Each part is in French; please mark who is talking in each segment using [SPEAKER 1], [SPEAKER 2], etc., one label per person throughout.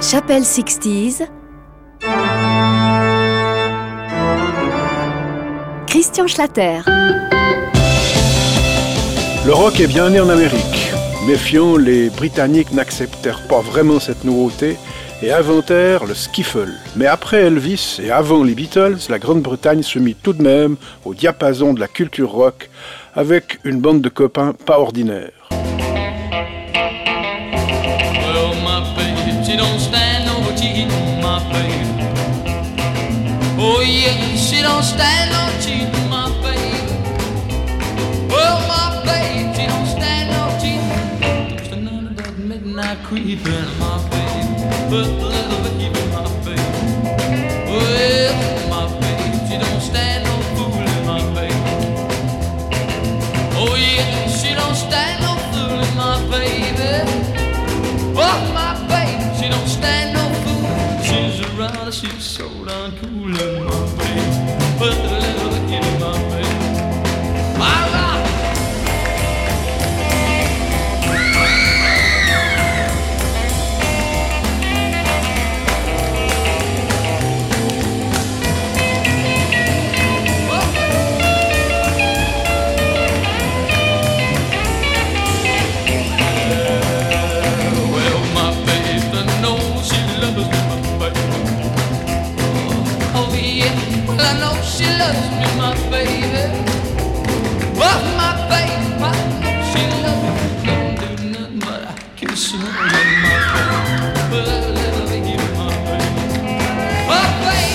[SPEAKER 1] Chapelle 60s. Christian Schlatter.
[SPEAKER 2] Le rock est bien né en Amérique. Méfiant, les Britanniques n'acceptèrent pas vraiment cette nouveauté et inventèrent le skiffle. Mais après Elvis et avant les Beatles, la Grande-Bretagne se mit tout de même au diapason de la culture rock avec une bande de copains pas ordinaires.
[SPEAKER 3] Well, my baby, she don't stand no cheating, my baby. Oh yeah, she don't stand no cheating, my baby. Well, my baby, she don't stand no cheating. Just none of that midnight creeping, my baby. But a little baby, my baby. Well, my baby, she don't stand no fooling, my baby. Oh yeah, she don't stand no fooling, my baby. Oh, my baby, she don't stand no fooling. She's a rider, she's so darn cool, my baby. But a little baby, my baby. My rock. I know she loves me, my baby. Oh, my baby, I know she loves me. Don't do nothing but I kiss her, my baby. But a little baby, my baby. Oh, baby.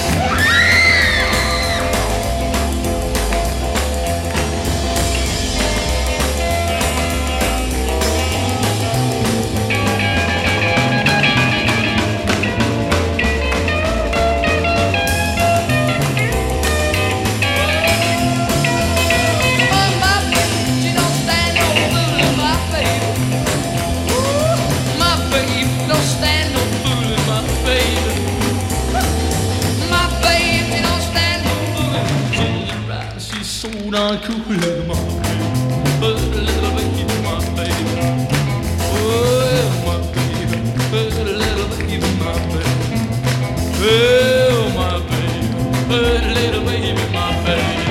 [SPEAKER 3] Darn cool, my baby, but a little baby, my baby. Oh, my baby, but a little baby, my baby. Oh, my baby, but a little baby, my baby.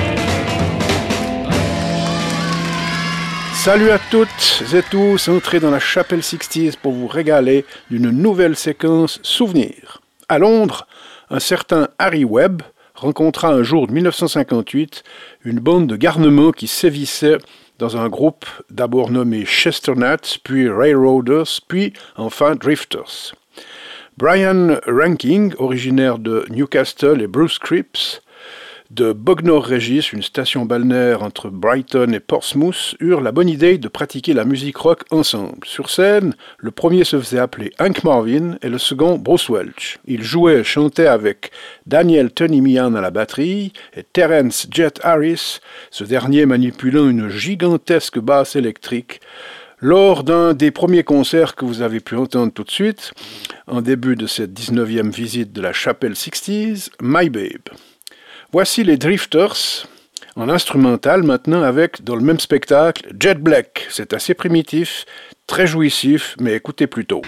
[SPEAKER 2] Salut à toutes et tous, entrez dans la Chapelle 60s pour vous régaler d'une nouvelle séquence souvenirs. À Londres, un certain Harry Webb rencontra un jour de 1958 une bande de garnements qui sévissait dans un groupe d'abord nommé Chesternut, puis Railroaders, puis enfin Drifters. Brian Ranking, originaire de Newcastle, et Bruce Cripps, de Bognor Regis, une station balnéaire entre Brighton et Portsmouth, eurent la bonne idée de pratiquer la musique rock ensemble. Sur scène, le premier se faisait appeler Hank Marvin et le second Bruce Welch. Ils jouaient et chantaient avec Daniel Tony Meehan à la batterie et Terence Jet Harris, ce dernier manipulant une gigantesque basse électrique, lors d'un des premiers concerts que vous avez pu entendre tout de suite, en début de cette 19e visite de la Chapelle 60s, My Babe. Voici les Drifters, en instrumental maintenant avec, dans le même spectacle, Jet Black. C'est assez primitif, très jouissif, mais écoutez plutôt.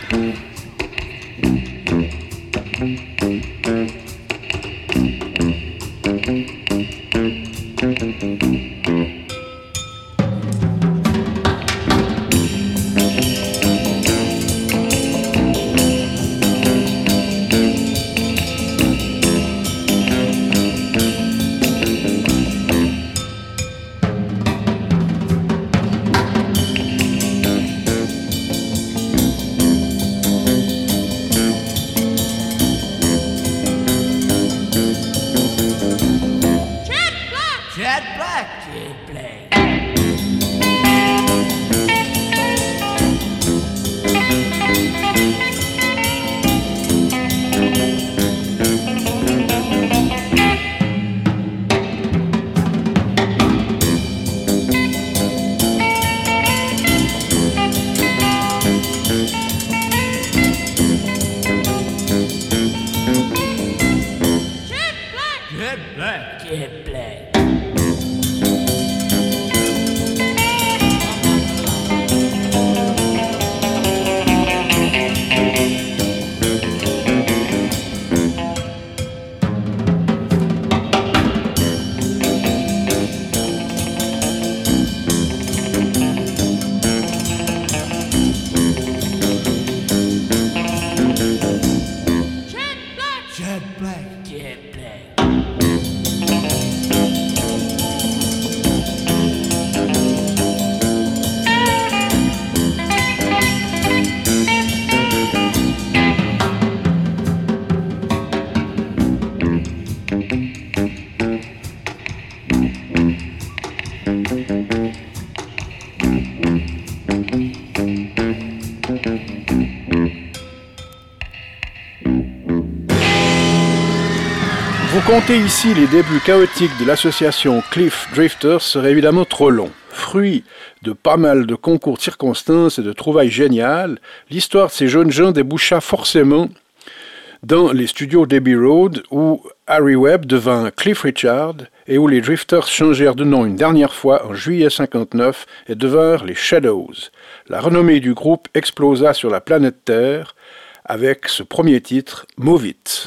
[SPEAKER 2] Raconter ici les débuts chaotiques de l'association Cliff Drifters serait évidemment trop long. Fruit de pas mal de concours de circonstances et de trouvailles géniales, l'histoire de ces jeunes gens déboucha forcément dans les studios d'Abbey Road où Harry Webb devint Cliff Richard et où les Drifters changèrent de nom une dernière fois en juillet 59 et devinrent les Shadows. La renommée du groupe explosa sur la planète Terre avec ce premier titre, Move It.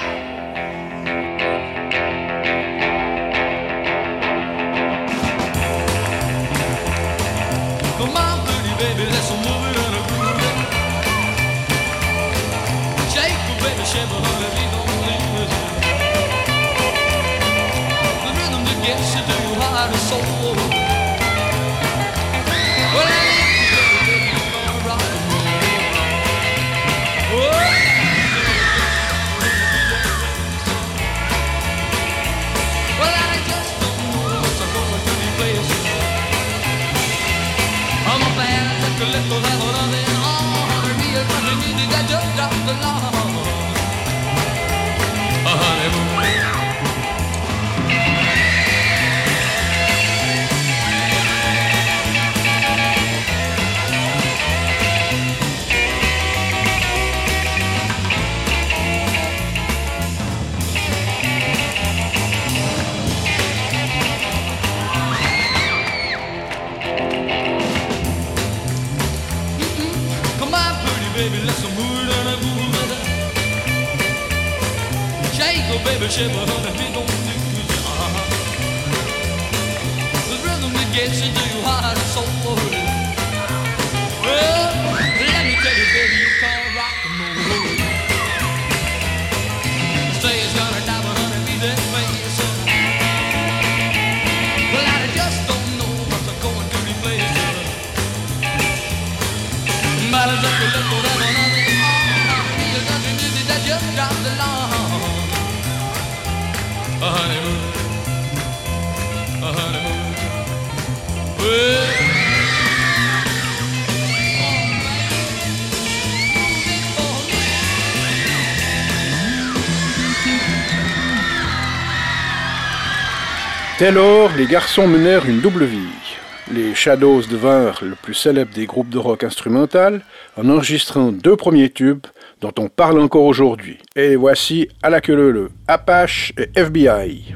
[SPEAKER 2] Dès lors, les garçons menèrent une double vie. Les Shadows devinrent le plus célèbre des groupes de rock instrumental en enregistrant 2 premiers tubes dont on parle encore aujourd'hui. Et voici à la queue leu, Apache et FBI.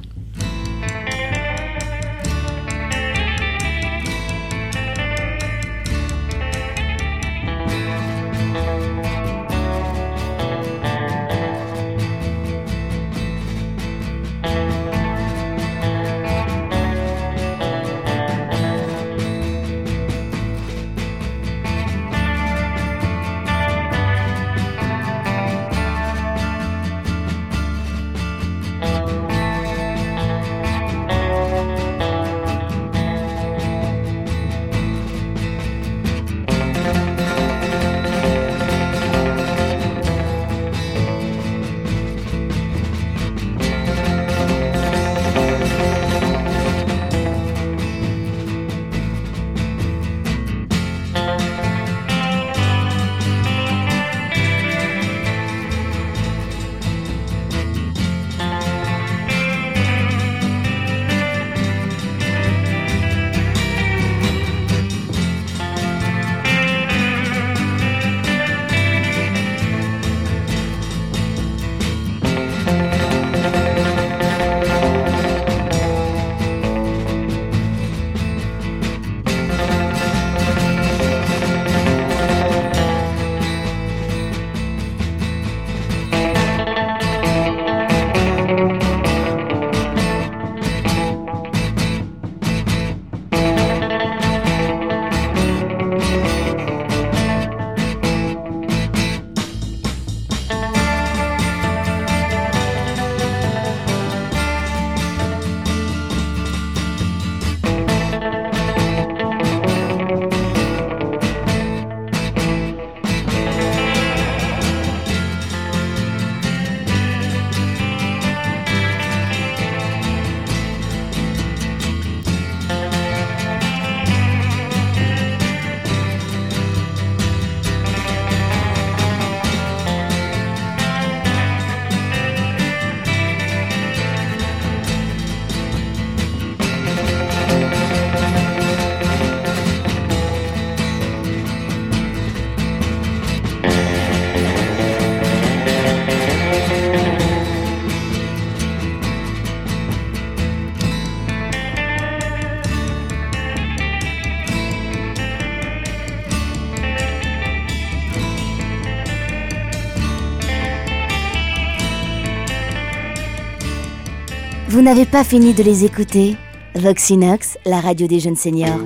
[SPEAKER 1] Vous n'avez pas fini de les écouter? Voxinox, la radio des jeunes seniors.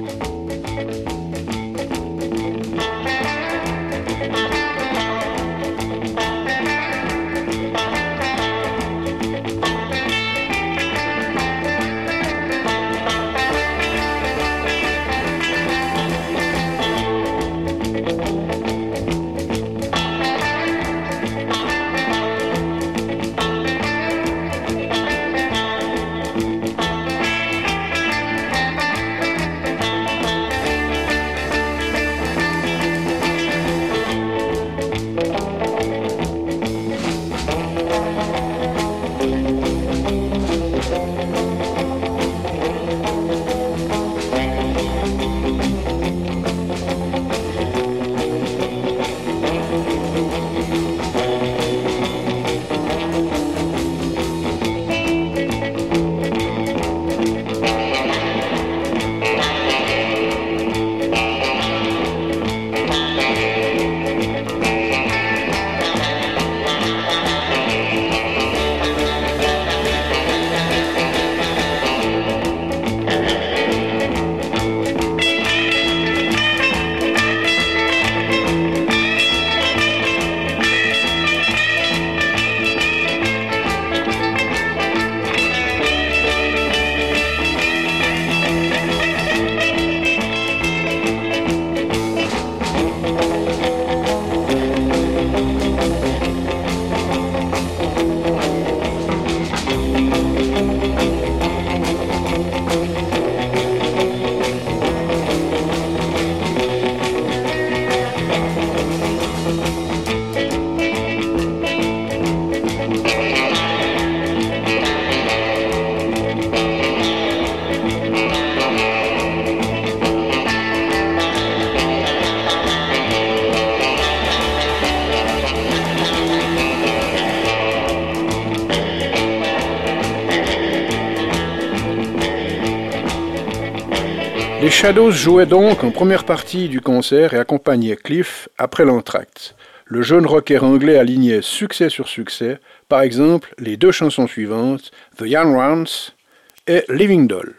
[SPEAKER 2] Les Shadows jouaient donc en première partie du concert et accompagnaient Cliff après l'entracte. Le jeune rocker anglais alignait succès sur succès, par exemple les deux chansons suivantes, The Young Ones et Living Doll.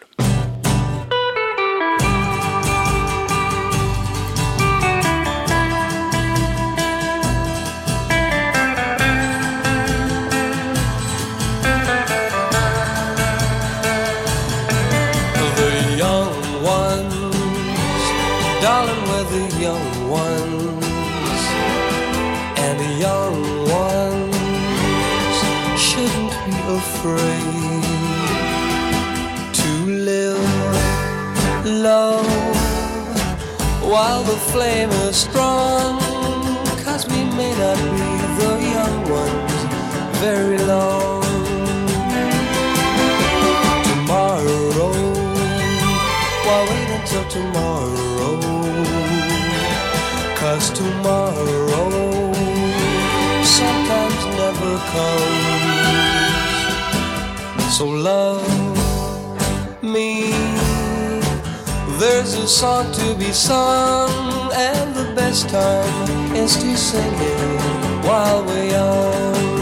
[SPEAKER 4] Darling, we're the young ones, and the young ones shouldn't be afraid to live low while the flame is strong, 'cause we may not be the young ones very long. Tomorrow, why wait until tomorrow? 'Cause tomorrow sometimes never comes. So love me, there's a song to be sung, and the best time is to sing it while we're young.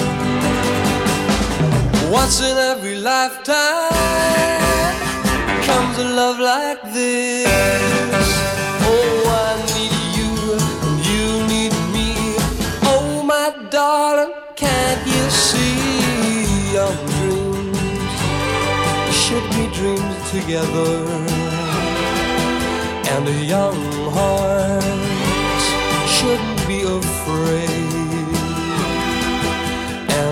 [SPEAKER 4] Once in every lifetime comes a love like this. Oh, I need you and you need me. Oh, my darling, can't you see? Young dreams should be dreams together, and the young hearts shouldn't be afraid. And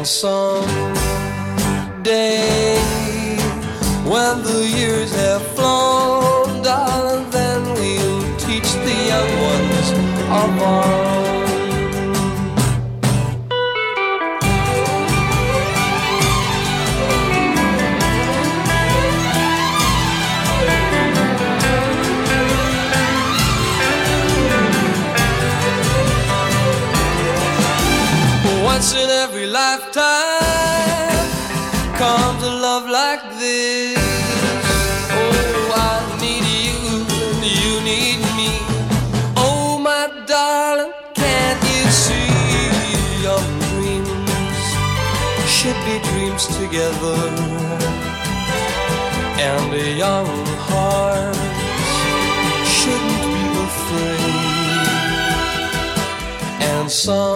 [SPEAKER 4] someday, when the years have flown, darling, then we'll teach the young ones of our own. Once in every lifetime comes a love like this. Oh, I need you and you need me. Oh, my darling, can't you see your dreams should be dreams together, and the young hearts shouldn't be afraid. And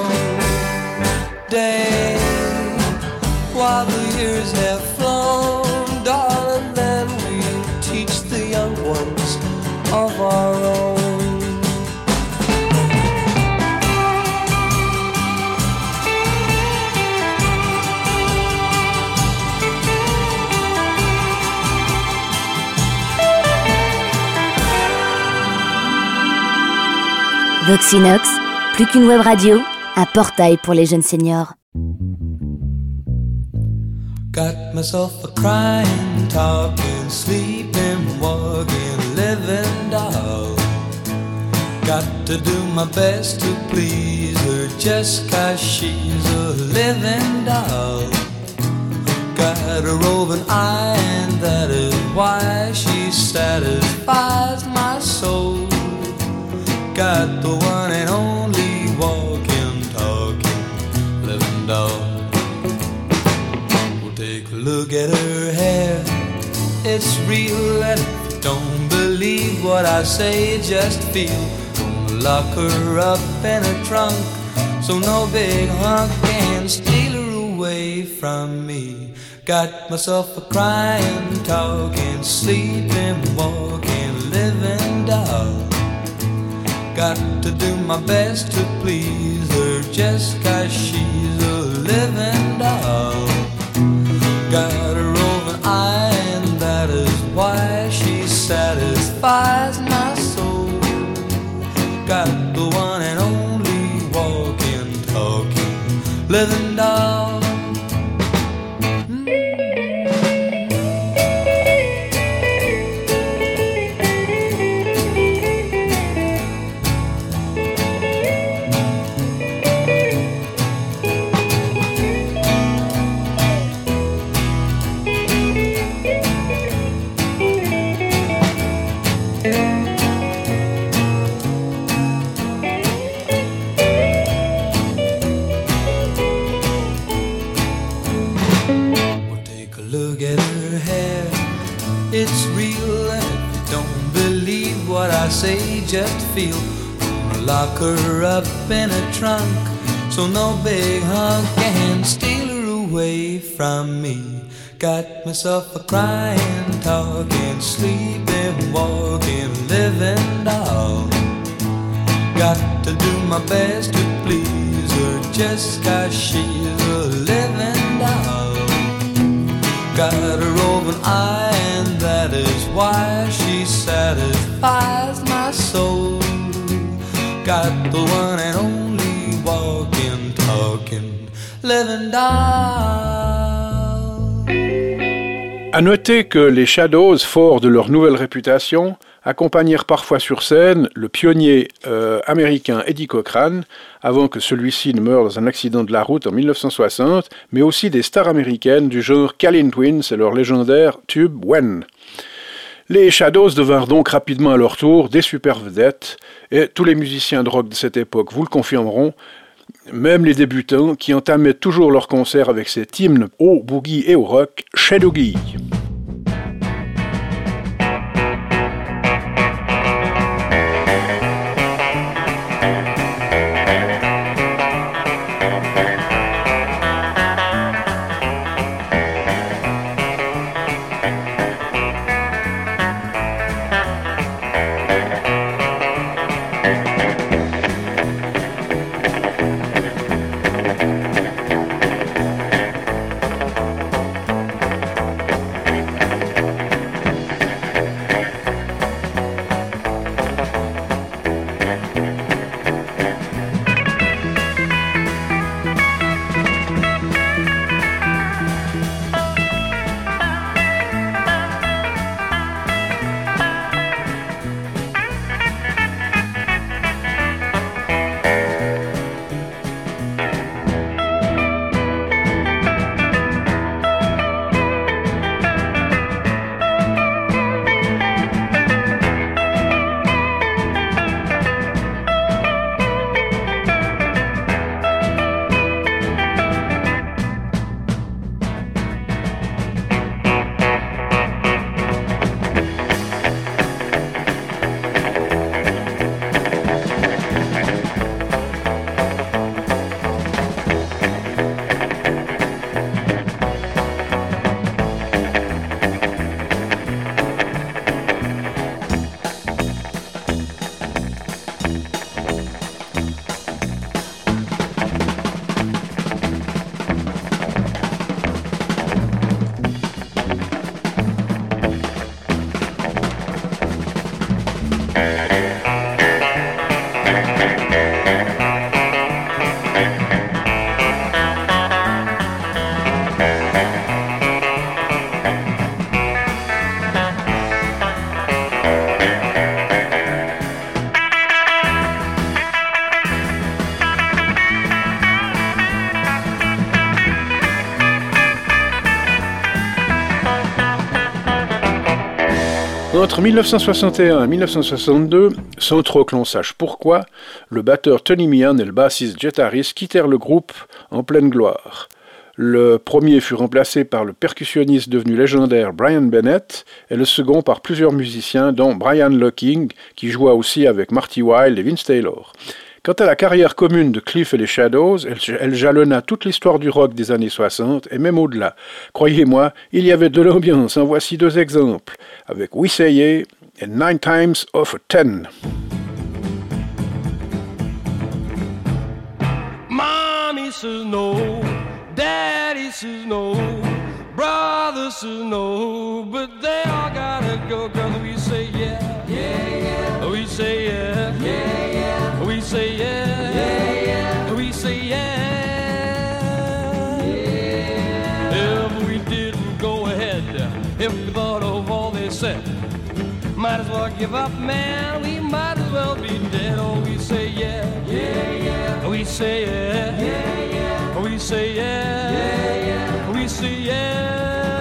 [SPEAKER 4] someday, while the years have flown, darling, then we'll teach the young ones of our own.
[SPEAKER 1] Voxinox, plus qu'une web radio, un portail pour les jeunes seniors.
[SPEAKER 4] Got myself a crying, talking, sleeping, walking, living doll. Got to do my best to please her just 'cause she's a living doll. Got a roving eye and that is why she satisfies my soul. Got the one and only walking, talking, living doll. Well, take a look at her hair, it's real, and if you don't believe what I say, just feel. Gonna lock her up in a trunk, so no big hunk can steal her away from me. Got myself a crying, talking, sleeping, walking, living doll. Got to do my best to please her just 'cause she's a living doll. Got a roving eye and that is why she satisfies my soul. Got the one and only walking, talking, living doll. It's real, and if you don't believe what I say, just feel. Gonna lock her up in a trunk, so no big hunk can steal her away from me. Got myself a crying, talking, sleeping, walking, living doll. Got to do my best to please her just 'cause she's a living doll. Got a roving eye and that is why she satisfies my soul. Got the one and only walking, talking, living doll.
[SPEAKER 2] À noter que les Shadows, forts de leur nouvelle réputation, accompagnèrent parfois sur scène le pionnier américain Eddie Cochran, avant que celui-ci ne meure dans un accident de la route en 1960, mais aussi des stars américaines du genre Callin Twins et leur légendaire tube When. Les Shadows devinrent donc rapidement à leur tour des super vedettes, et tous les musiciens de rock de cette époque vous le confirmeront, même les débutants qui entamaient toujours leurs concerts avec cet hymne au boogie et au rock, Shadoogie. Entre 1961 et 1962, sans trop que l'on sache pourquoi, le batteur Tony Meehan et le bassiste Jet Harris quittèrent le groupe en pleine gloire. Le premier fut remplacé par le percussionniste devenu légendaire Brian Bennett et le second par plusieurs musiciens dont Brian Locking qui joua aussi avec Marty Wilde et Vince Taylor. Quant à la carrière commune de Cliff et les Shadows, elle jalonna toute l'histoire du rock des années 60 et même au-delà. Croyez-moi, il y avait de l'ambiance, en voici deux exemples, avec We Say Yeah et 9 Times of a 10.
[SPEAKER 5] Mommy says no, Daddy says no, brother says no, but they all gotta go, cause we say yeah, yeah, yeah. We say yeah, yeah, yeah. We say yeah, yeah, yeah. We say yeah, yeah. If we didn't go ahead, if we thought of all they said, might as well give up, man, we might as well be dead. Oh, we say yeah, yeah, yeah. We say yeah, yeah, yeah. We say yeah, yeah, yeah. We say yeah,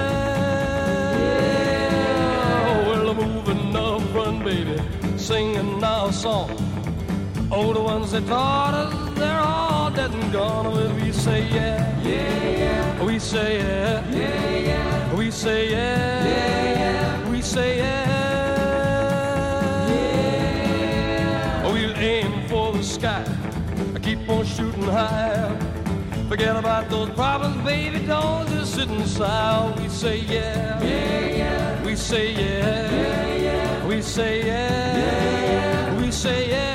[SPEAKER 5] yeah. Well, I'm moving up front, baby, singing our song. Oh, the ones that taught us, they're all dead and gone. Well, we say yeah, yeah, yeah. We say yeah, yeah, yeah. We say yeah, yeah, yeah. We say yeah, yeah. We'll aim for the sky, keep on shooting high. Forget about those problems, baby, don't just sit inside. We say yeah, yeah, yeah. We say yeah, yeah, yeah. We say yeah, yeah, yeah. We say yeah.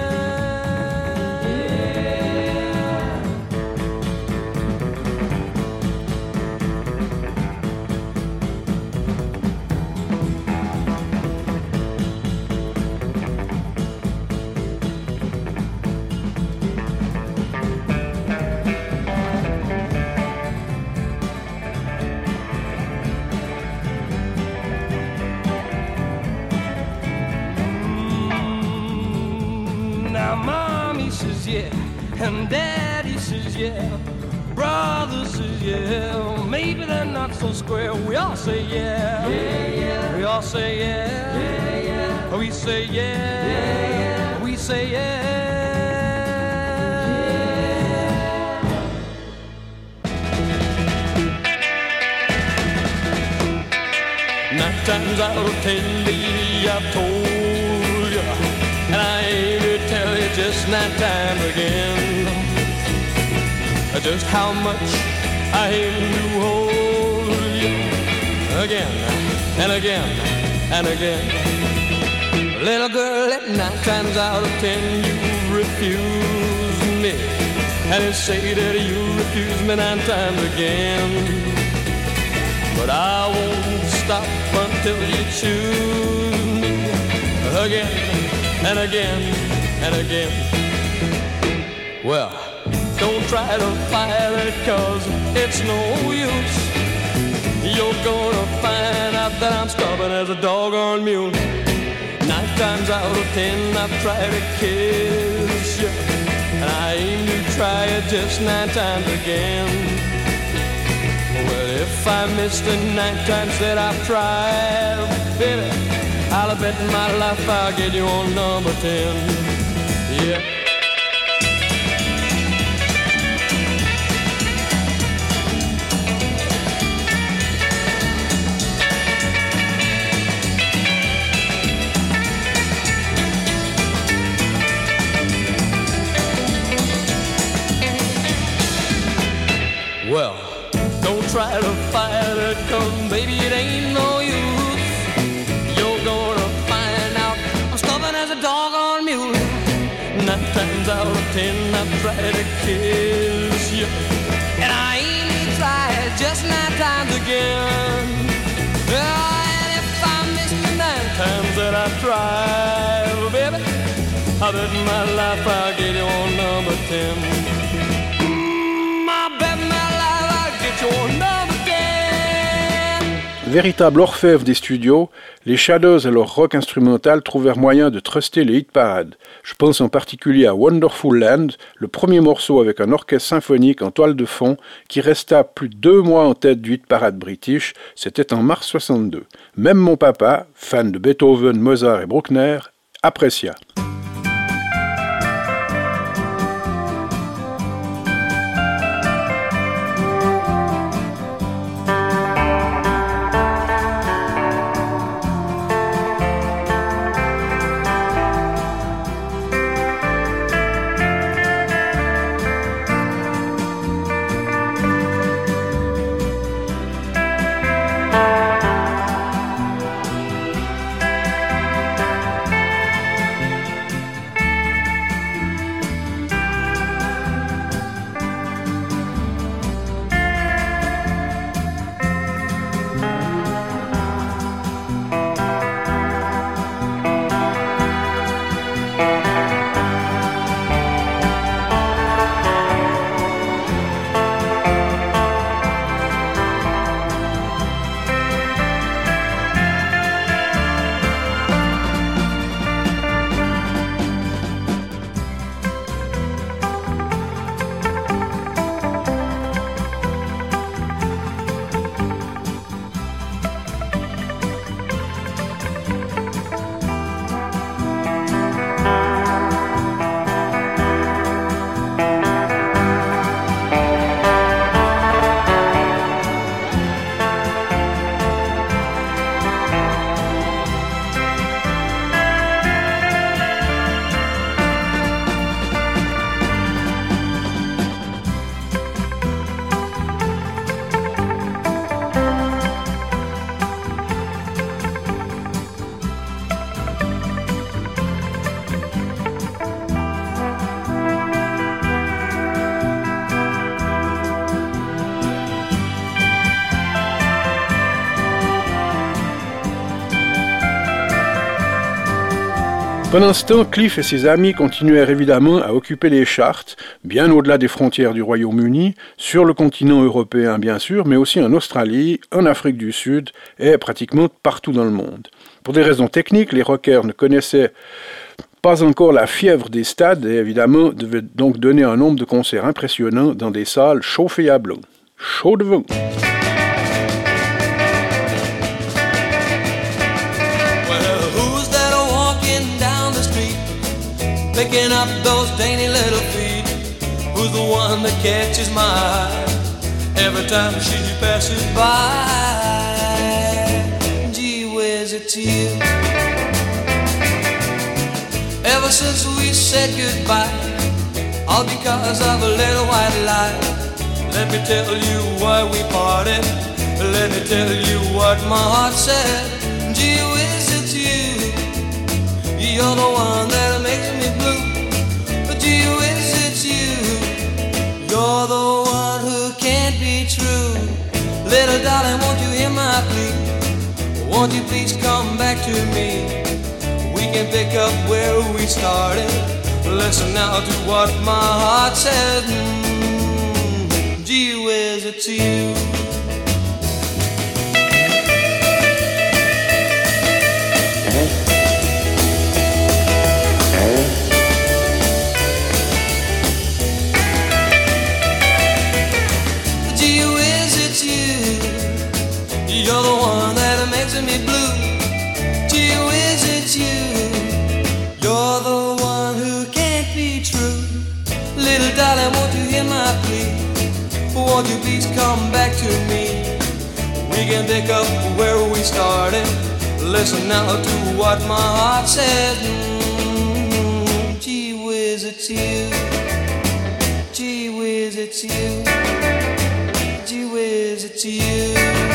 [SPEAKER 5] And Daddy says yeah, brother says yeah, maybe they're not so square. We all say yeah, yeah, yeah. We all say yeah, yeah, yeah. We say yeah, yeah, yeah. We say yeah, yeah. 9 times out of 10, baby, I've told you, and I ain't to tell you just 9 times again just how much I aim to hold you again and again and again. Little girl, at 9 times out of 10 you refuse me, and you say that you refuse me 9 times again. But I won't stop until you choose me again and again and again. Well, don't try to fight it, cause it's no use. You're gonna find out that I'm stubborn as a doggone mule. 9 times out of 10 I've tried to kiss you, and I aim to try it just 9 times again. Well, if I miss the 9 times that I've tried, baby, I'll bet my life I'll get you on number 10. Yeah. Well, don't try to fight it, cause baby it ain't no use. You're gonna find out I'm stubborn as a doggone mule. 9 times out of 10 I've tried to kiss you, and I ain't tried just 9 times again. And if I miss the 9 times that I tried, well, baby, I bet my life I'll get you on number 10.
[SPEAKER 2] Véritable orfèvre des studios, les Shadows et leur rock instrumental trouvèrent moyen de truster les hit-parades. Je pense en particulier à Wonderful Land, le premier morceau avec un orchestre symphonique en toile de fond qui resta plus de 2 mois en tête du hit-parade british, c'était en mars 62. Même mon papa, fan de Beethoven, Mozart et Bruckner, apprécia. Pendant ce temps, Cliff et ses amis continuèrent évidemment à occuper les charts, bien au-delà des frontières du Royaume-Uni, sur le continent européen bien sûr, mais aussi en Australie, en Afrique du Sud et pratiquement partout dans le monde. Pour des raisons techniques, les rockers ne connaissaient pas encore la fièvre des stades et évidemment devaient donc donner un nombre de concerts impressionnants dans des salles chauffées à blanc. Chaud de vent.
[SPEAKER 4] Picking up those dainty little feet. Who's the one that catches my eye every time she passes by? Gee whiz, it's you. Ever since we said goodbye, all because of a little white lie. Let me tell you why we parted. Let me tell you what my heart said. Gee whiz, it's you. You're the one that makes me blue. But gee whiz, it's you. You're the one who can't be true. Little darling, won't you hear my plea? Won't you please come back to me? We can pick up where we started. Listen now to what my heart says. Gee whiz, it's you. You're the one that makes me blue. Gee whiz, it's you. You're the one who can't be true. Little darling, won't you hear my plea? Won't you please come back to me? We can pick up where we started. Listen now to what my heart says. Gee whiz, it's you. Gee whiz, it's you. Gee whiz, it's you.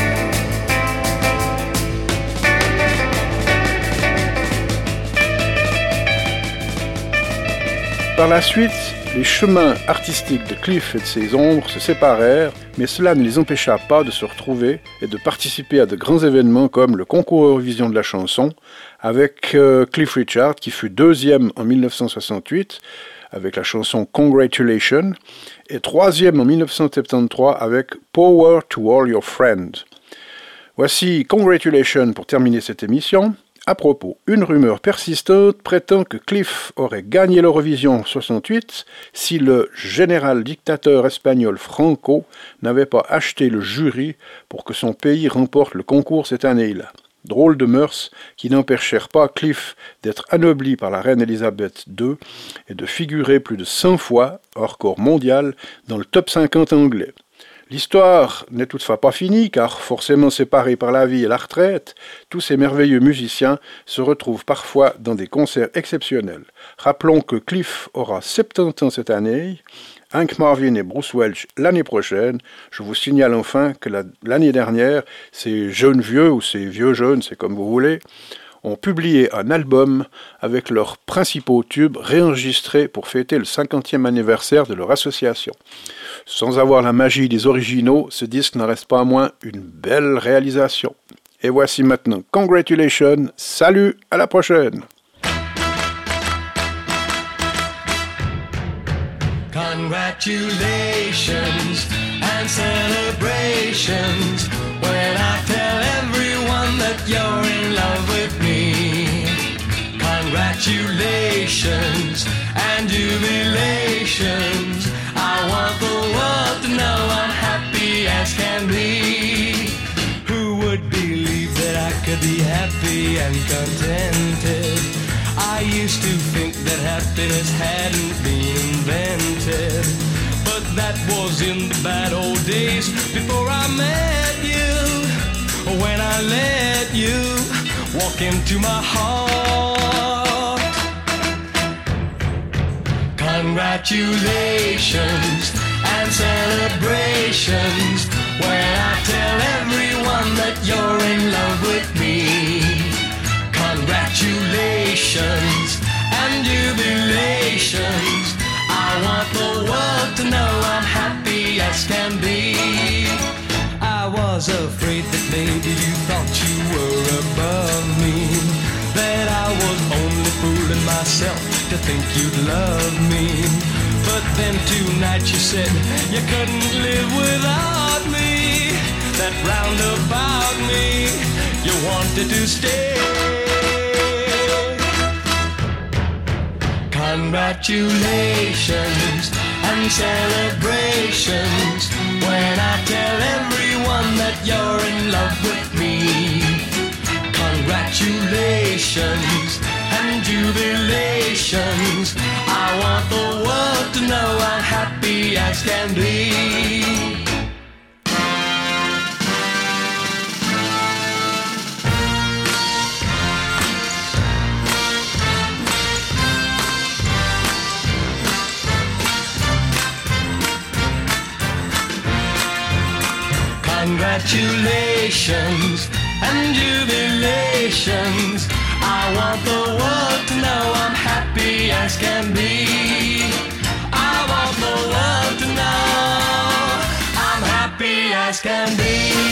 [SPEAKER 2] Par la suite, les chemins artistiques de Cliff et de ses ombres se séparèrent, mais cela ne les empêcha pas de se retrouver et de participer à de grands événements comme le concours Eurovision de la chanson, avec Cliff Richard qui fut 2e en 1968 avec la chanson Congratulations et 3e en 1973 avec Power to All Your Friends. Voici Congratulations pour terminer cette émission. À propos, une rumeur persistante prétend que Cliff aurait gagné l'Eurovision 68 si le général dictateur espagnol Franco n'avait pas acheté le jury pour que son pays remporte le concours cette année-là. Drôle de mœurs qui n'empêchèrent pas Cliff d'être anobli par la reine Elisabeth II et de figurer plus de 100 fois, hors corps mondial, dans le top 50 anglais. L'histoire n'est toutefois pas finie, car forcément séparés par la vie et la retraite, tous ces merveilleux musiciens se retrouvent parfois dans des concerts exceptionnels. Rappelons que Cliff aura 70 ans cette année, Hank Marvin et Bruce Welch l'année prochaine. Je vous signale enfin que l'année dernière, ces jeunes vieux, ou ces vieux jeunes, c'est comme vous voulez, ont publié un album avec leurs principaux tubes réenregistrés pour fêter le 50e anniversaire de leur association. Sans avoir la magie des originaux, ce disque n'en reste pas moins une belle réalisation. Et voici maintenant Congratulations, salut, à la prochaine.
[SPEAKER 4] Congratulations and celebrations when I tell everyone that you're in love with me. Congratulations and jubilations. I want the world to know I'm happy as can be. Who would believe that I could be happy and contented? I used to think that happiness hadn't been invented, but that was in the bad old days before I met you. When I let you walk into my heart. Congratulations and celebrations when I tell everyone that you're in love with me. Congratulations and jubilations. I want the world to know I'm happy as can be. I was afraid that maybe you thought you were above me, that I was only fooling myself to think you'd love me. But then tonight you said you couldn't live without me, that roundabout me you wanted to stay. Congratulations and celebrations when I tell everyone that you're in love with me. Congratulations and jubilations. I want the world to know I'm happy as can be. Congratulations and jubilations. I want the world to know I'm happy as can be. I want the world to know I'm happy as can be.